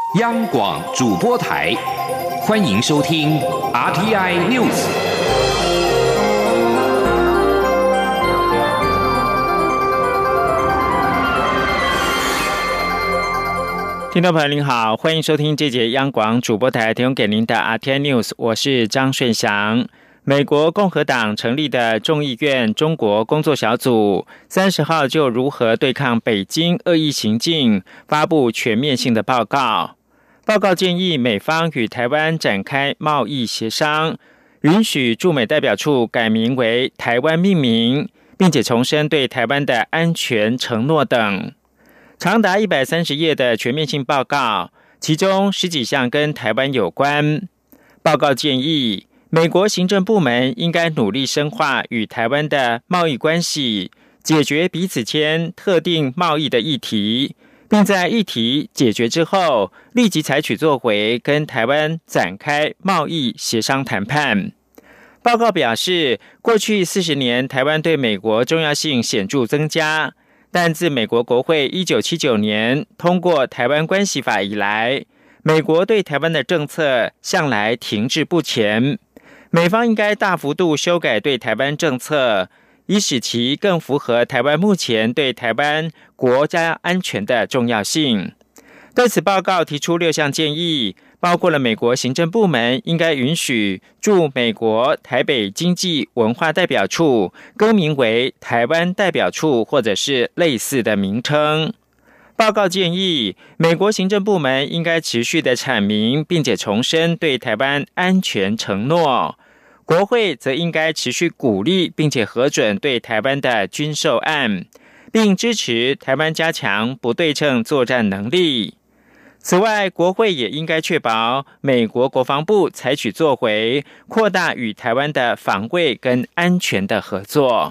央广主播台，欢迎收听 RTI News。 听众朋友您好，欢迎收听这节央广主播台提供给您的 RTI News， 我是张顺祥。美国共和党成立的众议院中国工作小组30号就如何对抗北京恶意行径发布全面性的报告。报告建议美方与台湾展开贸易协商，允许驻美代表处改名为台湾命名，并且重申对台湾的安全承诺等。长达130页的全面性报告，其中10几项跟台湾有关。报告建议美国行政部门应该努力深化与台湾的贸易关系，解决彼此间特定贸易的议题，并在议题解决之后，立即采取作为跟台湾展开贸易协商谈判。报告表示，过去40年台湾对美国重要性显著增加，但自美国国会1979年通过台湾关系法以来，美国对台湾的政策向来停滞不前。美方应该大幅度修改对台湾政策，以使其更符合台湾目前对台湾国家安全的重要性。对此报告提出6项建议，包括了美国行政部门应该允许驻美国台北经济文化代表处更名为台湾代表处或者是类似的名称。报告建议美国行政部门应该持续的阐明并且重申对台湾安全承诺，国会则应该持续鼓励并且核准对台湾的军售案，并支持台湾加强不对称作战能力。此外，国会也应该确保美国国防部采取作为，扩大与台湾的防卫跟安全的合作。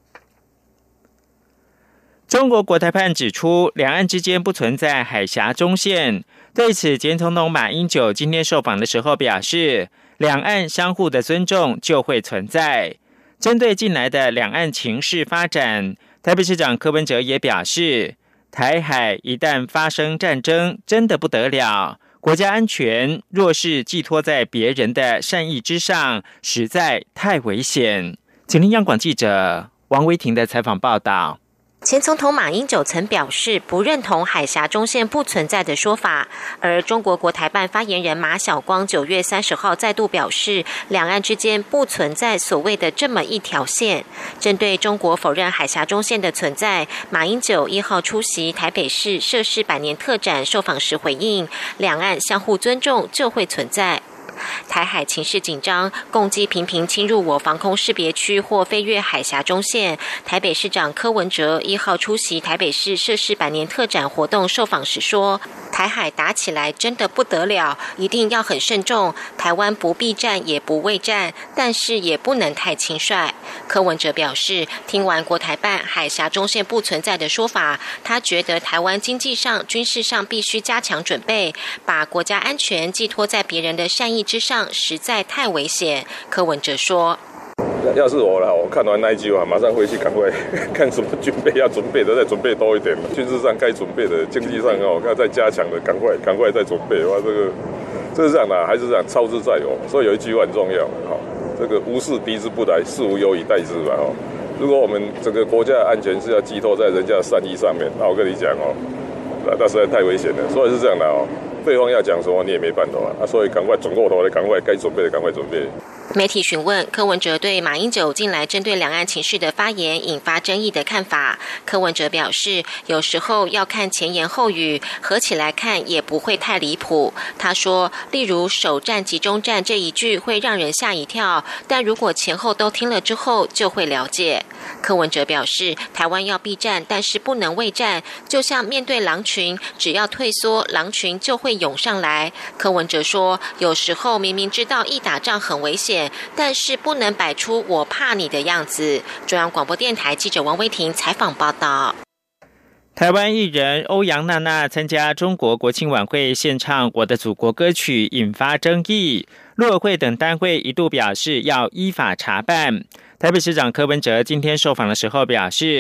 中国国台办指出，两岸之间不存在海峡中线。对此，前总统马英九今天受访的时候表示，两岸相互的尊重就会存在。针对近来的两岸情势发展，台北市长柯文哲也表示，台海一旦发生战争，真的不得了。国家安全若是寄托在别人的善意之上，实在太危险。请听央广记者王维婷的采访报道。 前总统马英九曾表示不认同海峡中线不存在的说法，而中国国台办发言人马晓光9月30号再度表示，两岸之间不存在所谓的这么一条线。针对中国否认海峡中线的存在，马英九1号出席台北市涉事100年特展受访时回应，两岸相互尊重就会存在。台海情势紧张，共机频频侵入我防空识别区或飞越海峡中线。台北市长柯文哲1号出席台北市涉事100年特展活动受访时说，台海打起来真的不得了，一定要很慎重，台湾不避战也不畏战，但是也不能太轻率。柯文哲表示，听完国台办海峡中线不存在的说法，他觉得台湾经济上、军事上必须加强准备，把国家安全寄托在别人的善意之上，实在太危险。柯文哲说， 要是我了，我看完那一句话，马上回去赶快看什么军备要准备的，再准备多一点。军事上该准备的，经济上要再加强的，赶快再准备。哇，这是这样的，还是这样，操之在我。所以有一句话很重要，这个无事敌之不来，事无有以待之吧。如果我们整个国家的安全是要寄托在人家的善意上面，那我跟你讲那实在太危险了。所以是这样的对方要讲什么你也没办法所以赶快转过头来，赶快该准备的赶快准备。 媒体询问柯文哲对马英九近来针对两岸情势的发言引发争议的看法，柯文哲表示，有时候要看前言后语，合起来看也不会太离谱。他说，例如首战集中战这一句会让人吓一跳，但如果前后都听了之后就会了解。柯文哲表示，台湾要避战，但是不能畏战，就像面对狼群，只要退缩，狼群就会涌上来。柯文哲说，有时候明明知道一打仗很危险，但是不能摆出我怕你的样子。中央广播电台记者王威婷采访报道。 台湾艺人欧阳娜娜参加中国国庆晚会献唱《我的祖国》歌曲，引发争议。陆委会等单位一度表示要依法查办。台北市长柯文哲今天受访的时候表示，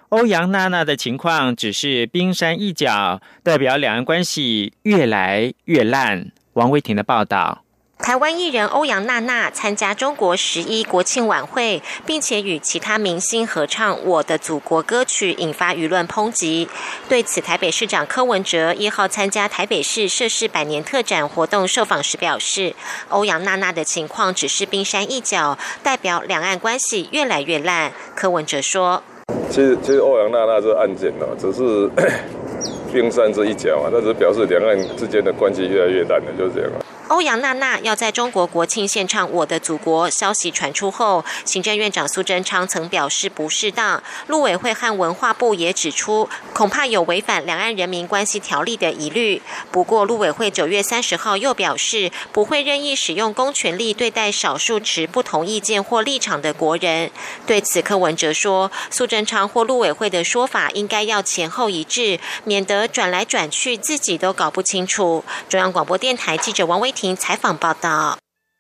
欧阳娜娜的情况只是冰山一角，代表两岸关系越来越烂。王威婷的报道。 台湾艺人欧阳娜娜参加中国11国庆晚会，并且与其他明星合唱《我的祖国》歌曲，引发舆论抨击。对此，台北市长柯文哲1号参加台北市社事百年特展活动受访时表示，欧阳娜娜的情况只是冰山一角，代表两岸关系越来越烂。柯文哲说：“ 其实欧阳娜娜这案件呢，只是冰山这一角啊，那只表示两岸之间的关系越来越烂了，就是这样。” 欧阳娜娜要在中国国庆献唱《我的祖国》消息传出后，行政院长苏贞昌曾表示不适当，陆委会和文化部也指出，恐怕有违反两岸人民关系条例的疑虑。不过，陆委会9月30号又表示，不会任意使用公权力对待少数持不同意见或立场的国人。对此，柯文哲说，苏贞昌或陆委会的说法应该要前后一致，免得转来转去自己都搞不清楚。中央广播电台记者王威婷采访报道。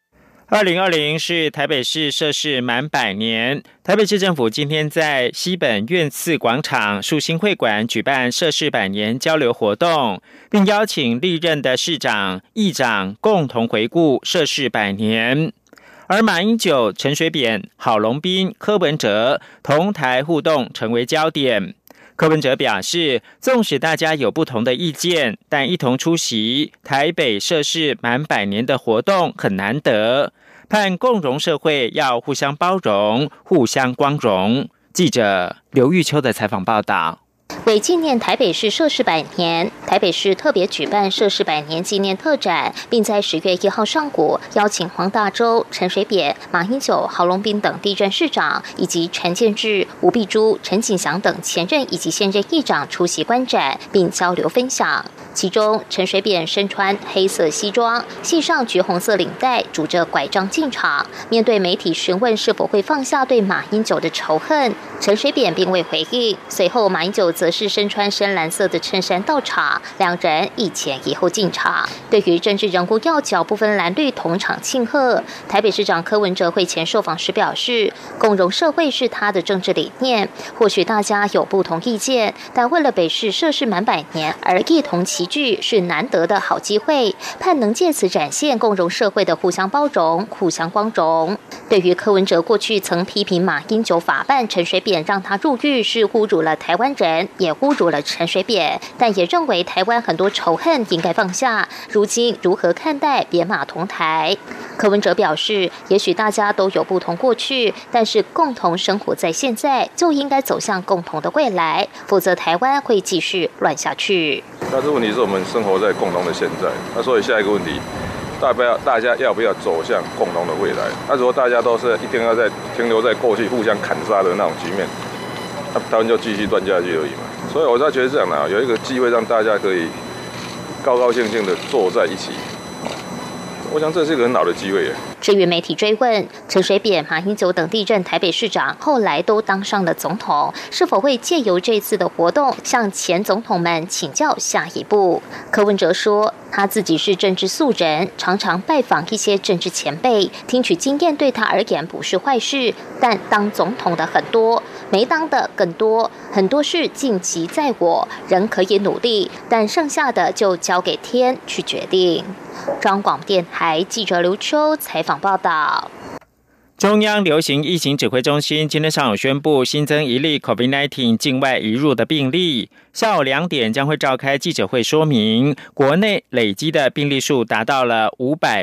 2020是台北市设市满100年，台北市政府今天在西本院次广场树兴会馆举办设市100年交流活动，并邀请历任的市长、议长共同回顾设市100年。而马英九、陈水扁、郝龙斌、柯文哲同台互动成为焦点。柯文哲表示，纵使大家有不同的意见，但一同出席台北设市满100年的活动很难得，盼共融社会要互相包容、互相光荣。记者刘玉秋的采访报道。 为纪念台北市设市100年，台北市特别举办设市100年纪念特展，并在10月1号上午邀请黄大洲、陈水扁、马英九、郝龙斌等地政市长，以及陈建志、吴碧珠、陈景祥等前任以及现任议长出席观展，并交流分享。其中，陈水扁身穿黑色西装，系上橘红色领带，拄着拐杖进场。面对媒体询问是否会放下对马英九的仇恨，陈水扁并未回应。随后，马英九则是身穿深蓝色的衬衫到场，两人一前一后进场。对于政治人物要角不分蓝绿同场庆贺，台北市长柯文哲会前受访时表示，共融社会是他的政治理念。或许大家有不同意见，但为了北市设市满100年而一同齐聚是难得的好机会，盼能借此展现共融社会的互相包容、互相光荣。对于柯文哲过去曾批评马英九法办陈水扁让他入狱是侮辱了台湾人，也侮辱了陈水扁，但也认为台湾很多仇恨应该放下。如今如何看待扁马同台？柯文哲表示，也许大家都有不同过去，但是共同生活在现在，就应该走向共同的未来，否则台湾会继续乱下去。 那这问题是我们生活在共同的现在，那所以下一个问题，大家要不要走向共同的未来？那如果大家都是一定要在停留在过去互相砍杀的那种局面，那台湾就继续乱下去而已嘛。所以我才觉得这样的，有一个机会让大家可以高高兴兴的坐在一起，我想这是一个很好的机会耶。 至于媒体追问陈水扁、马英九等地任台北市长后来都当上了总统，是否会借由这次的活动向前总统们请教下一步？柯文哲说，他自己是政治素人，常常拜访一些政治前辈，听取经验对他而言不是坏事，但当总统的很多，没当的更多，很多事尽其在我，人可以努力，但剩下的就交给天去决定。中央广播电台记者刘秋采访报道。 中央流行疫情指挥中心今天上午宣布新增一例 COVID-19 境外移入的病例，下午2点将会召开记者会说明，国内累积的病例数达到了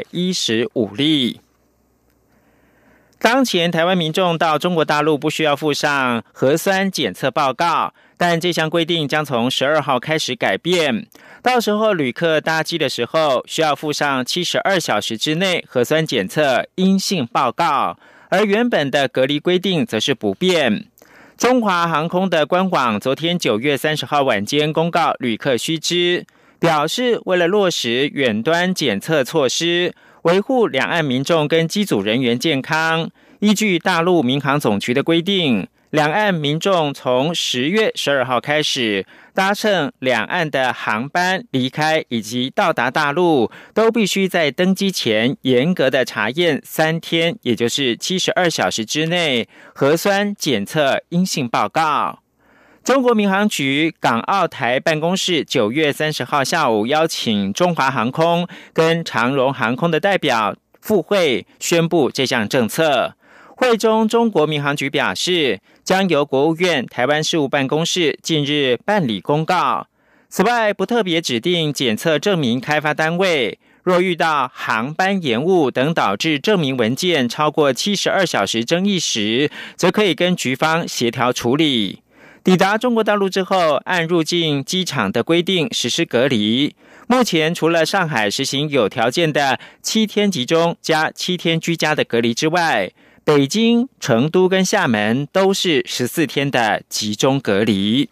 515例。当前台湾民众到中国大陆不需要附上核酸检测报告，但这项规定将从12号开始改变，到时候旅客搭机的时候需要附上72小时之内核酸检测阴性报告，而原本的隔离规定则是不变。中华航空的官网昨天9月30号晚间公告旅客须知，表示为了落实远端检测措施，维护两岸民众跟机组人员健康，依据大陆民航总局的规定，两岸民众从10月12号开始搭乘两岸的航班离开以及到达大陆，都必须在登机前严格的查验3天，也就是72小时之内核酸检测阴性报告。 中国民航局港澳台办公室9月30号下午邀请中华航空跟长荣航空的代表赴会，宣布这项政策。会中，中国民航局表示，将由国务院台湾事务办公室近日办理公告。此外，不特别指定检测证明开发单位，若遇到航班延误等导致证明文件超过72小时争议时，则可以跟局方协调处理。抵达中国大陆之后，按入境机场的规定实施隔离。目前除了上海实行有条件的7天集中加7天居家的隔离之外，北京、成都跟厦门都是14天的集中隔离。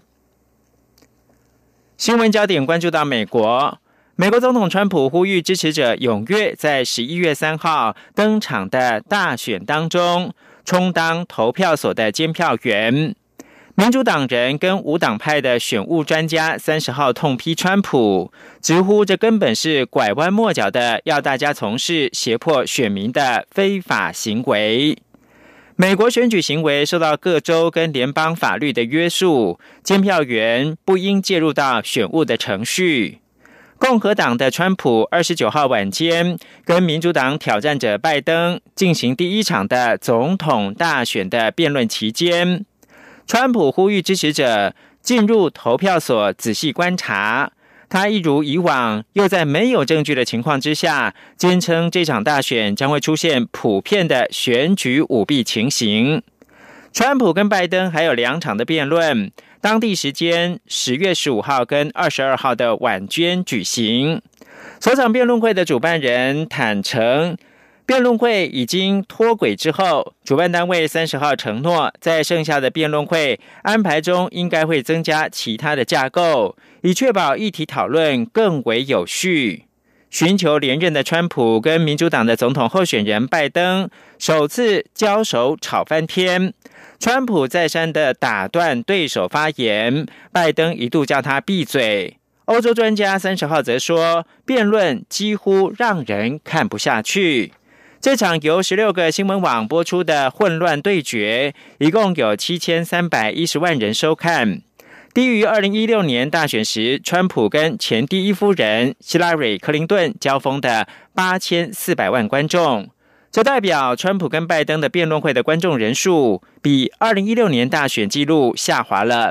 新闻焦点关注到美国，美国总统川普呼吁支持者踊跃在11月3号登场的大选当中充当投票所的监票员。民主党人跟无党派的选务专家30号痛批川普，直呼这根本是拐弯抹角的要大家从事胁迫选民的非法行为。美国选举行为受到各州跟联邦法律的约束，监票员不应介入到选务的程序。共和党的川普29号晚间跟民主党挑战者拜登进行第一场的总统大选的辩论期间，川普呼吁支持者进入投票所仔细观察。他一如以往，又在没有证据的情况之下，坚称这场大选将会出现普遍的选举舞弊情形。川普跟拜登还有2场的辩论，当地时间10月15号跟22号的晚间举行。首场辩论会的主办人坦承，辩论会已经脱轨之后，主办单位30号承诺，在剩下的辩论会安排中应该会增加其他的架构，以确保议题讨论更为有序。寻求连任的川普跟民主党的总统候选人拜登首次交手吵翻天，川普再三的打断对手发言，拜登一度叫他闭嘴。欧洲专家30号则说，辩论几乎让人看不下去。这场由16个新闻网播出的混乱对决，一共有7310万人收看，低于2016年大选时川普跟前第一夫人希拉蕊·克林顿交锋的8400万观众。这代表川普跟拜登的辩论会的观众人数比2016年大选纪录下滑了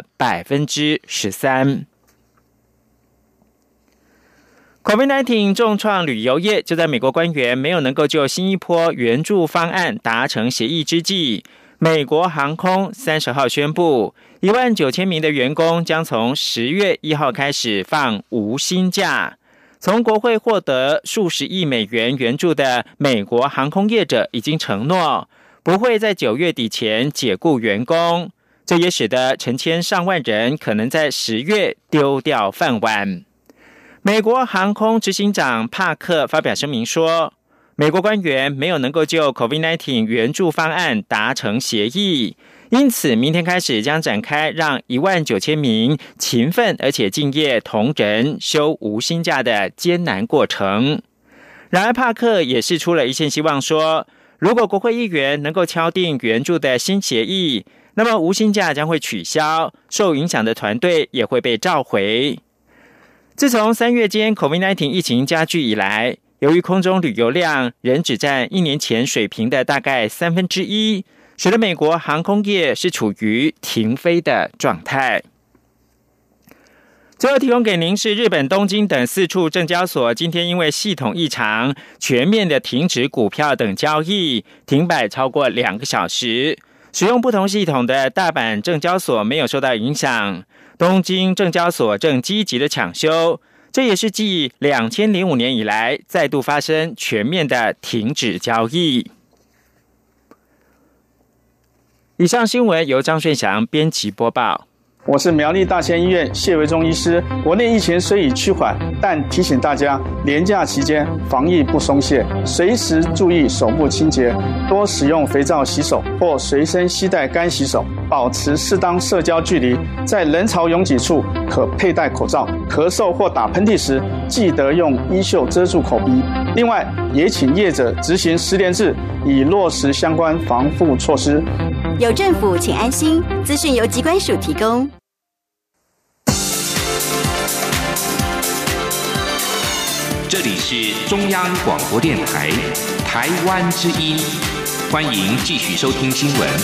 13%。COVID-19 重创旅游业，就在美国官员没有能够就新一波援助方案达成协议之际，美国航空30号宣布，19000名的员工将从10月1号开始放无薪假。从国会获得数十亿美元援助的美国航空业者已经承诺，不会在9月底前解雇员工，这也使得成千上万人可能在10月丢掉饭碗。美国航空执行长帕克发表声明说，美国官员没有能够就 COVID-19 援助方案达成协议，因此明天开始将展开让19000名勤奋而且敬业同仁休无薪假的艰难过程。然而帕克也释出了一线希望说，如果国会议员能够敲定援助的新协议，那么无薪假将会取消，受影响的团队也会被召回。自从3月间 COVID-19 疫情加剧以来，由于空中旅游量仍只占1年前水平的大概1/3，使得美国航空业是处于停飞的状态。最后提供给您是日本东京等4处证交所今天因为系统异常全面的停止股票等交易，停摆超过2个小时。使用不同系统的大阪证交所没有受到影响，东京证交所正积极的抢修，这也是继2005年以来再度发生全面的停止交易。以上新闻由张顺祥编辑播报。 我是苗栗大仙医院谢维忠医师。国内疫情虽已趋缓，但提醒大家，连假期间防疫不松懈，随时注意手部清洁，多使用肥皂洗手或随身携带干洗手，保持适当社交距离，在人潮拥挤处可佩戴口罩，咳嗽或打喷嚏时记得用衣袖遮住口鼻。另外，也请业者执行10连制，以落实相关防护措施。 有政府，请安心。资讯由疾管署提供。 这里是中央广播电台台湾之音，欢迎继续收听新闻。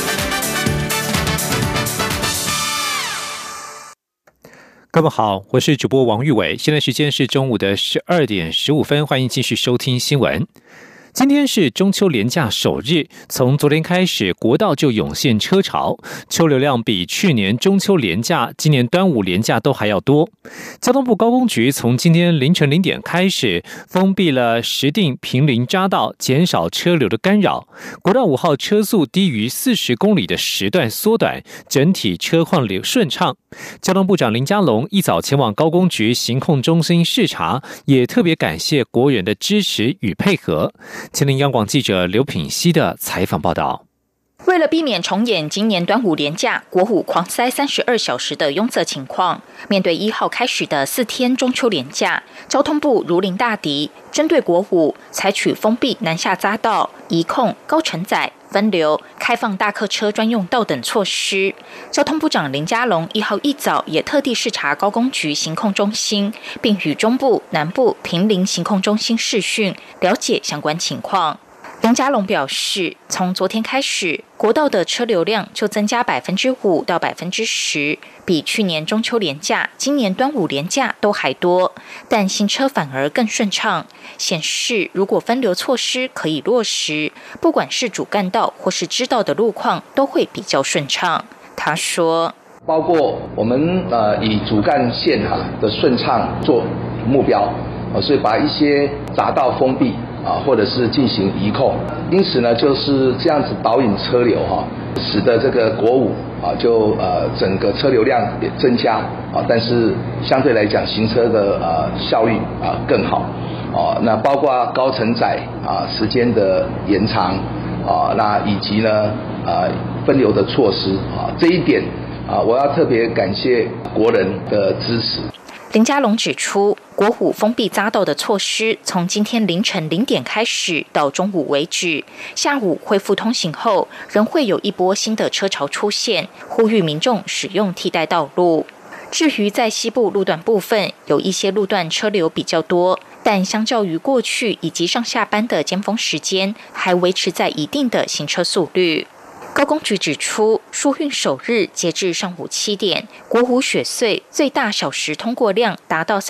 各位好，我是主播王玉伟，现在时间是中午的12点15分，欢迎继续收听新闻。今天是中秋连假首日，从昨天开始，国道就涌现车潮，车流量比去年中秋连假、今年端午连假都还要多。交通部高工局从今天凌晨0点开始，封闭了石碇坪林匝道，减少车流的干扰。国道5号车速低于40公里的时段缩短，整体车况顺畅。交通部长林佳龙一早前往高工局行控中心视察，也特别感谢国人的支持与配合。前林央广记者刘品熙的采访报道。 为了避免重演今年端午连假国五狂塞32小时的拥塞情况，面对1号开始的4天中秋连假，交通部如临大敌，针对国五采取封闭南下匝道、移控、高承载、分流、开放大客车专用道等措施。交通部长林佳龙1号一早也特地视察高工局行控中心，并与中部、南部坪林行控中心视讯，了解相关情况。林佳龙表示，从昨天开始，国道的车流量就增加5%到10%，比去年中秋连假、今年端午连假都还多，但新车反而更顺畅，显示如果分流措施可以落实，不管是主干道或是支道的路况都会比较顺畅。他说， 包括我们以主干线的顺畅做目标，所以把一些匝道封闭或者是进行移控，因此呢，就是这样子导引车流使得这个国五就整个车流量也增加但是相对来讲行车的效率更好那包括高承载时间的延长那以及呢分流的措施这一点我要特别感谢国人的支持。 林佳龙指出，国五封闭匝道的措施从今天凌晨0点开始到中午为止，下午恢复通行后，仍会有一波新的车潮出现，呼吁民众使用替代道路。至于在西部路段部分，有一些路段车流比较多，但相较于过去以及上下班的尖峰时间，还维持在一定的行车速率。高工局指出，疏运首日截至上午7点，国五雪隧最大小时通过量达到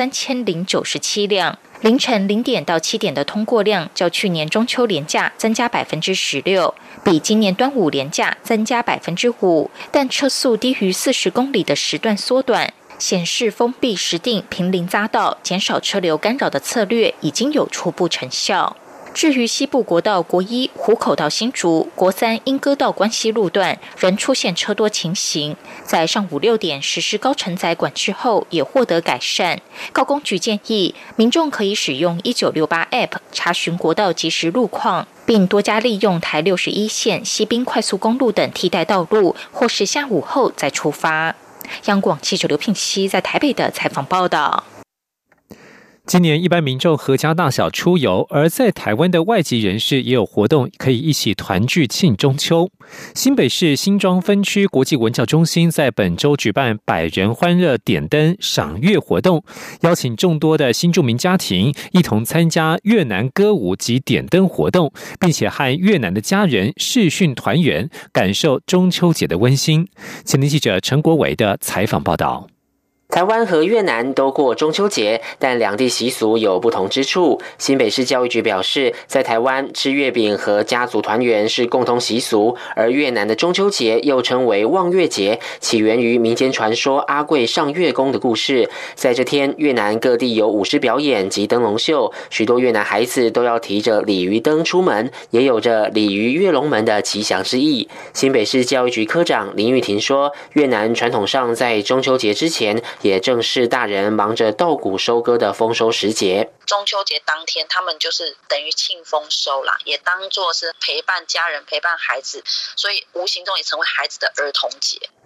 3097辆，凌晨0点到7点的通过量较去年中秋连假增加16%，比今年端午连假增加5%，但车速低于40公里的时段缩短，显示封闭石碇坪林匝道减少车流干扰的策略已经有初步成效。至于西部国道国1湖口到新竹、国3莺歌到关西路段仍出现车多情形，在上午6点实施高承载管制后也获得改善。高工局建议民众可以使用1968 App 查询国道即时路况，并多加利用台61线西滨快速公路等替代道路，或是下午后再出发。央广记者刘聘熙在台北的采访报道。 今年一般民众合家大小出游，而在台湾的外籍人士也有活动可以一起团聚庆中秋。新北市新庄分区国际文教中心在本周举办100人欢乐点灯赏月活动，邀请众多的新住民家庭一同参加越南歌舞及点灯活动，并且和越南的家人视讯团圆，感受中秋节的温馨。前天记者陈国伟的采访报道。 台湾和越南都过中秋节，但两地习俗有不同之处。新北市教育局表示，在台湾吃月饼和家族团圆是共同习俗，而越南的中秋节又称为望月节，起源于民间传说阿贵上月宫的故事。在这天，越南各地有舞狮表演及灯笼秀，许多越南孩子都要提着鲤鱼灯出门，也有着鲤鱼跃龙门的吉祥之意。新北市教育局科长林玉婷说，越南传统上在中秋节之前也正是大人忙着稻谷收割的丰收时节。 中秋节当天，他们就是等于庆丰收啦，也当作是陪伴家人、陪伴孩子，所以无形中也成为孩子的儿童节。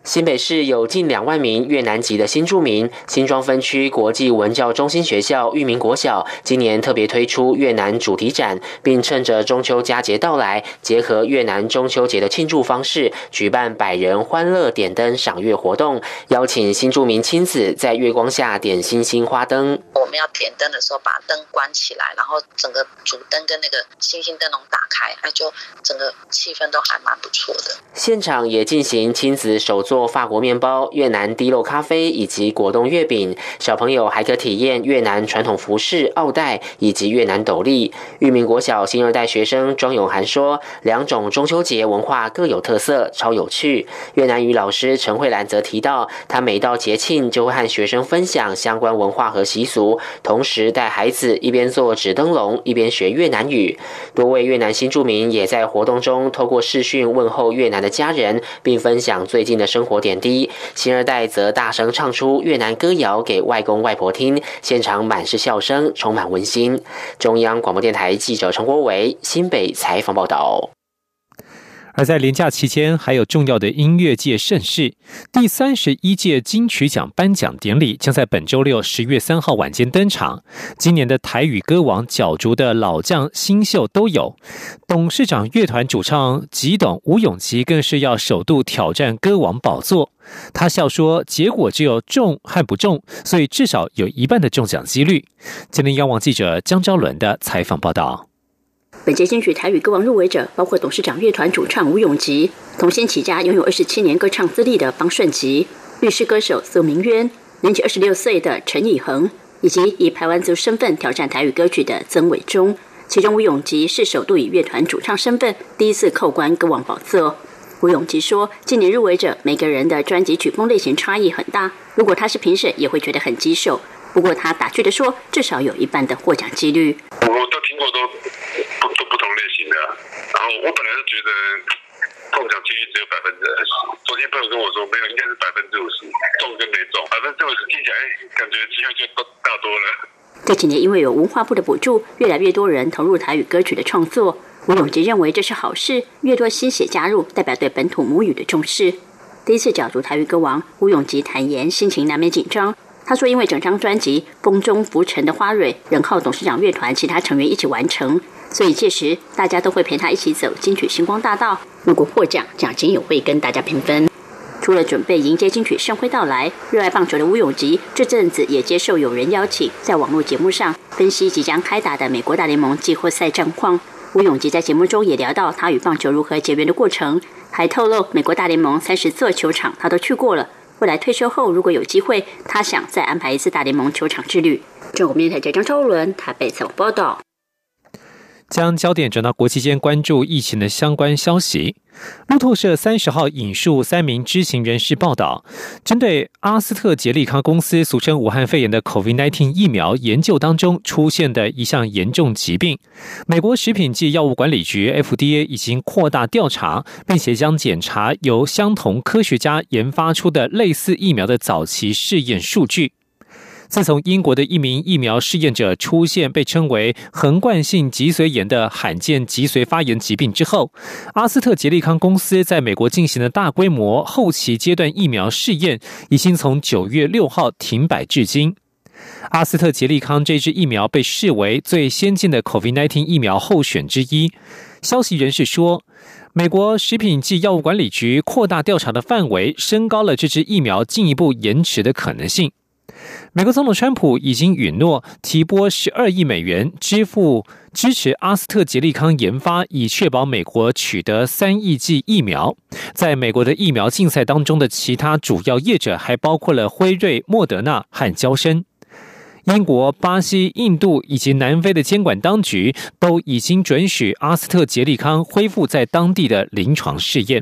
新北市有近2万名越南籍的新住民，新庄分区国际文教中心学校裕民国小今年特别推出越南主题展，并趁着中秋佳节到来，结合越南中秋节的庆祝方式，举办100人欢乐点灯赏月活动，邀请新住民亲子在月光下点星星花灯。 我们要点灯的时候，把灯关起来，然后整个主灯跟那个星星灯笼打开，那就整个气氛都还蛮不错的。 现场也进行亲子手作法国面包、越南滴漏咖啡以及果冻月饼，小朋友还可体验越南传统服饰、奥黛以及越南斗笠。裕民国小新2代学生庄永涵说，2种中秋节文化各有特色，超有趣。越南语老师陈慧兰则提到，他每到节庆就会和学生分享相关文化和习俗，同时带孩子一边做纸灯笼，一边学越南语。多位越南新住民也在活动中透过视讯问候越南的家人，并分享最近的生活点滴。新2代则大声唱出越南歌谣给外公外婆听，现场满是笑声，充满温馨。中央广播电台记者陈国维新北采访报道。 而在连假期间，还有重要的音乐界盛事。第31届金曲奖颁奖典礼将在本周六10月3号晚间登场。今年的台语歌王角逐的老将新秀都有，董事长乐团主唱吉董吴永琪更是要首度挑战歌王宝座。他笑说，结果只有中和不中，所以至少有1半的中奖几率。今天央网记者江昭伦的采访报道。 本届金曲台语歌王入围者包括董事长乐团主唱吴永吉、童星起家拥有27年歌唱资历的方顺吉、律师歌手苏明渊、年仅26岁的陈以恒，以及以排湾族身份挑战台语歌曲的曾伟忠。其中吴永吉是首度以乐团主唱身份第一次扣关歌王宝座。吴永吉说，今年入围者每个人的专辑曲风类型差异很大，如果他是评审也会觉得很棘手。不过他打趣的说，至少有1半的获奖几率。 我都听过都不同类型的，然后我本来就觉得中奖几率只有20%，昨天朋友跟我说没有，应该是50%，中跟没中，50%听起来感觉机会就大多了。 这几年因为有文化部的补助，越来越多人投入台语歌曲的创作。吴永吉认为这是好事，越多新血加入，代表对本土母语的重视。第一次角逐台语歌王，吴永吉坦言心情难免紧张。他说，因为整张专辑《风中浮沉的花蕊》仍靠董事长乐团其他成员一起完成，所以届时大家都会陪他一起走金曲星光大道。如果获奖，奖金也会跟大家平分。除了准备迎接金曲盛会到来，热爱棒球的吴永吉这阵子也接受友人邀请，在网络节目上分析即将开打的美国大联盟季后赛战况。吴永吉在节目中也聊到他与棒球如何结缘的过程，还透露美国大联盟30座球场他都去过了。未来退休后，如果有机会，他想再安排一次大联盟球场之旅。中国电台记者张昭伦台北采访报道。 将焦点转到国际间关注疫情的相关消息。路透社30号引述3名知情人士报道，针对阿斯特捷利康公司俗称武汉肺炎的 COVID-19 疫苗研究当中出现的一项严重疾病，美国食品及药物管理局 FDA 已经扩大调查，并且将检查由相同科学家研发出的类似疫苗的早期试验数据。自从英国的一名疫苗试验者出现被称为横贯性脊髓炎的罕见脊髓发炎疾病之后，阿斯特捷利康公司在美国进行的大规模后期阶段疫苗试验已经从9月6号停摆至今。阿斯特捷利康这支疫苗被视为最先进的 COVID-19 疫苗候选之一。消息人士说，美国食品及药物管理局扩大调查的范围，升高了这支疫苗进一步延迟的可能性。美国总统川普已经允诺提拨12亿美元支持阿斯特捷利康研发，以确保美国取得3亿剂疫苗。在美国的疫苗竞赛当中的其他主要业者还包括了辉瑞、莫德纳和嬌生。英国、巴西、印度以及南非的监管当局都已经准许阿斯特捷利康恢复在当地的临床试验。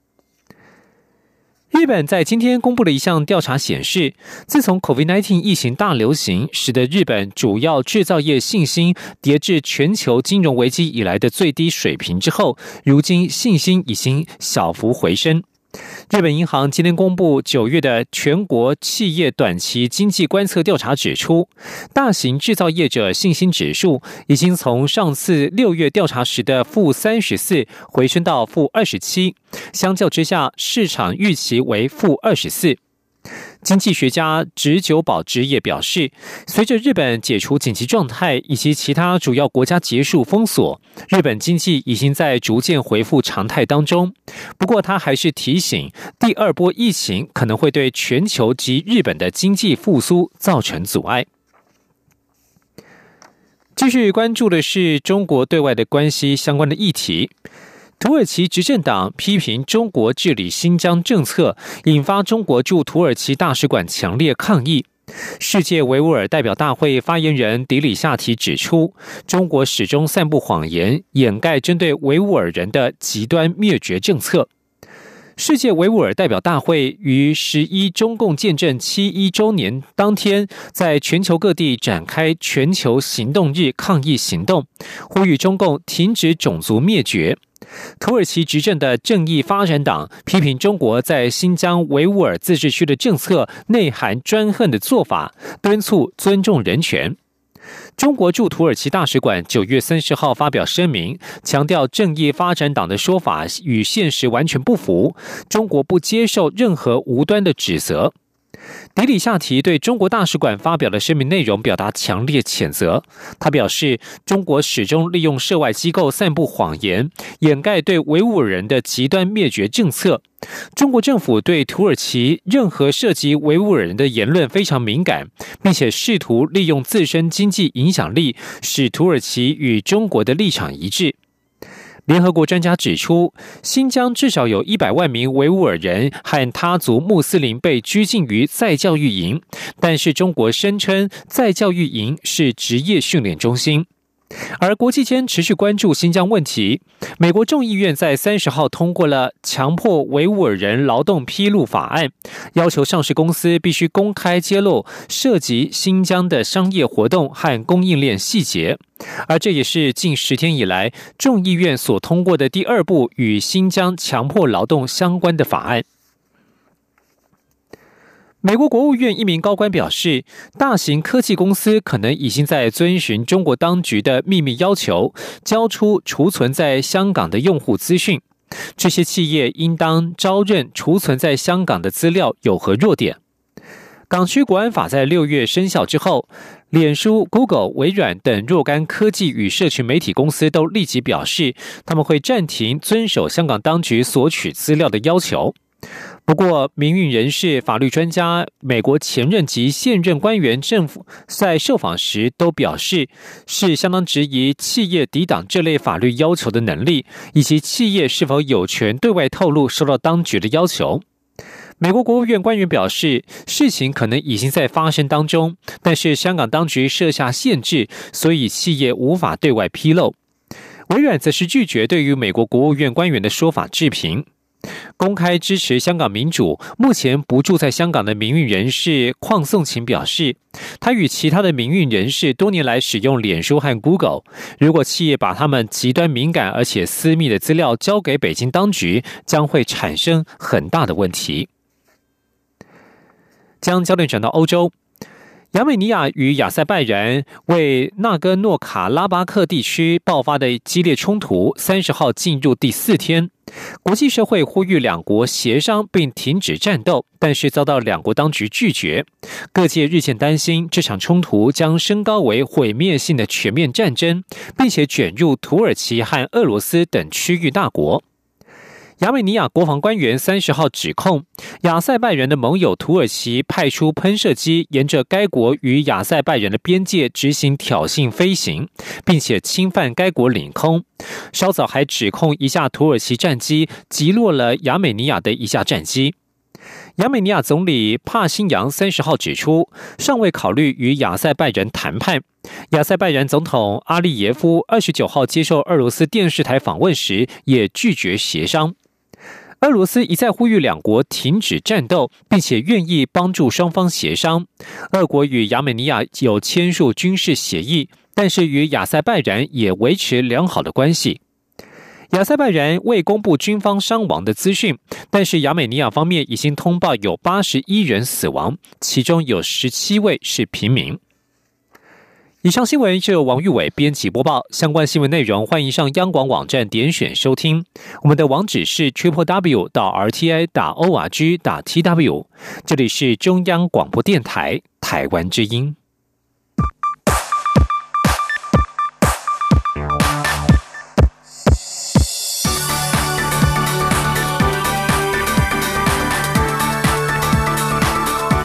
日本在今天公布了一项调查显示，自从 COVID-19 疫情大流行，使得日本主要制造业信心跌至全球金融危机以来的最低水平之后，如今信心已经小幅回升。 日本银行今天公布9月的全国企业短期经济观测调查指出，大型制造业者信心指数已经从上次6月调查时的-34回升到-27，相较之下，市场预期为-24。经济学家植久保之也表示，随着日本解除紧急状态以及其他主要国家结束封锁，日本经济已经在逐渐恢复常态当中。不过他还是提醒，第二波疫情可能会对全球及日本的经济复苏造成阻碍。继续关注的是中国对外的关系相关的议题。土耳其执政党批评中国治理新疆政策，引发中国驻土耳其大使馆强烈抗议。世界维吾尔代表大会发言人迪里夏提指出，中国始终散布谎言，掩盖针对维吾尔人的极端灭绝政策。世界维吾尔代表大会于11中共建政71周年当天，在全球各地展开全球行动日抗议行动，呼吁中共停止种族灭绝。土耳其执政的正义发展党批评中国在新疆维吾尔自治区的政策内含专横的做法，敦促尊重人权。中国驻土耳其大使馆9月30号发表声明，强调正义发展党的说法与现实完全不符，中国不接受任何无端的指责。迪里夏提对中国大使馆发表的声明内容表达强烈谴责。他表示，中国始终利用涉外机构散布谎言，掩盖对维吾尔人的极端灭绝政策。中国政府对土耳其任何涉及维吾尔人的言论非常敏感，并且试图利用自身经济影响力，使土耳其与中国的立场一致。联合国专家指出，新疆至少有100万名维吾尔人和他族穆斯林被拘禁于再教育营，但是中国声称再教育营是职业训练中心。而国际间持续关注新疆问题，美国众议院在30号通过了强迫维吾尔人劳动披露法案，要求上市公司必须公开揭露涉及新疆的商业活动和供应链细节。而这也是近10天以来众议院所通过的第2部与新疆强迫劳动相关的法案。美国国务院一名高官表示，大型科技公司可能已经在遵循中国当局的秘密要求，交出储存在香港的用户资讯。这些企业应当招认储存在香港的资料有何弱点。港区国安法在6月生效之后，脸书、Google、微软等若干科技与社群媒体公司都立即表示，他们会暂停遵守香港当局索取资料的要求。不过，民运人士、法律专家、美国前任及现任官员政府在受访时都表示，是相当质疑企业抵挡这类法律要求的能力，以及企业是否有权对外透露受到当局的要求。美国国务院官员表示，事情可能已经在发生当中，但是香港当局设下限制，所以企业无法对外披露。微软则是拒绝对于美国国务院官员的说法置评。公开支持香港民主，目前不住在香港的民运人士邝颂琴表示，他与其他的民运人士多年来使用脸书和 Google， 如果企业把他们极端敏感而且私密的资料交给北京当局，将会产生很大的问题。将焦点转到欧洲，亚美尼亚与亚塞拜然为纳戈诺卡拉巴克地区爆发的激烈冲突30号进入第4天。国际社会呼吁两国协商并停止战斗，但是遭到两国当局拒绝。各界日渐担心这场冲突将升高为毁灭性的全面战争，并且卷入土耳其和俄罗斯等区域大国。亚美尼亚国防官员30号指控，亚塞拜然的盟友土耳其派出喷射机沿着该国与亚塞拜然的边界执行挑衅飞行，并且侵犯该国领空。稍早还指控一架土耳其战机击落了亚美尼亚的一架战机。亚美尼亚总理帕辛扬30号指出，尚未考虑与亚塞拜然谈判。亚塞拜然总统阿利耶夫29号接受俄罗斯电视台访问时也拒绝协商。俄罗斯一再呼吁两国停止战斗，并且愿意帮助双方协商。俄国与亚美尼亚有签署军事协议，但是与亚塞拜然也维持良好的关系。 亚塞拜然未公布军方伤亡的资讯，但是亚美尼亚方面已经通报有81人死亡，其中有17位是平民。以上新闻是由王玉伟编辑播报，相关新闻内容欢迎上央广网站点选收听。我们的网址是 triplew.rti.org.tw。这里是中央广播电台台湾之音。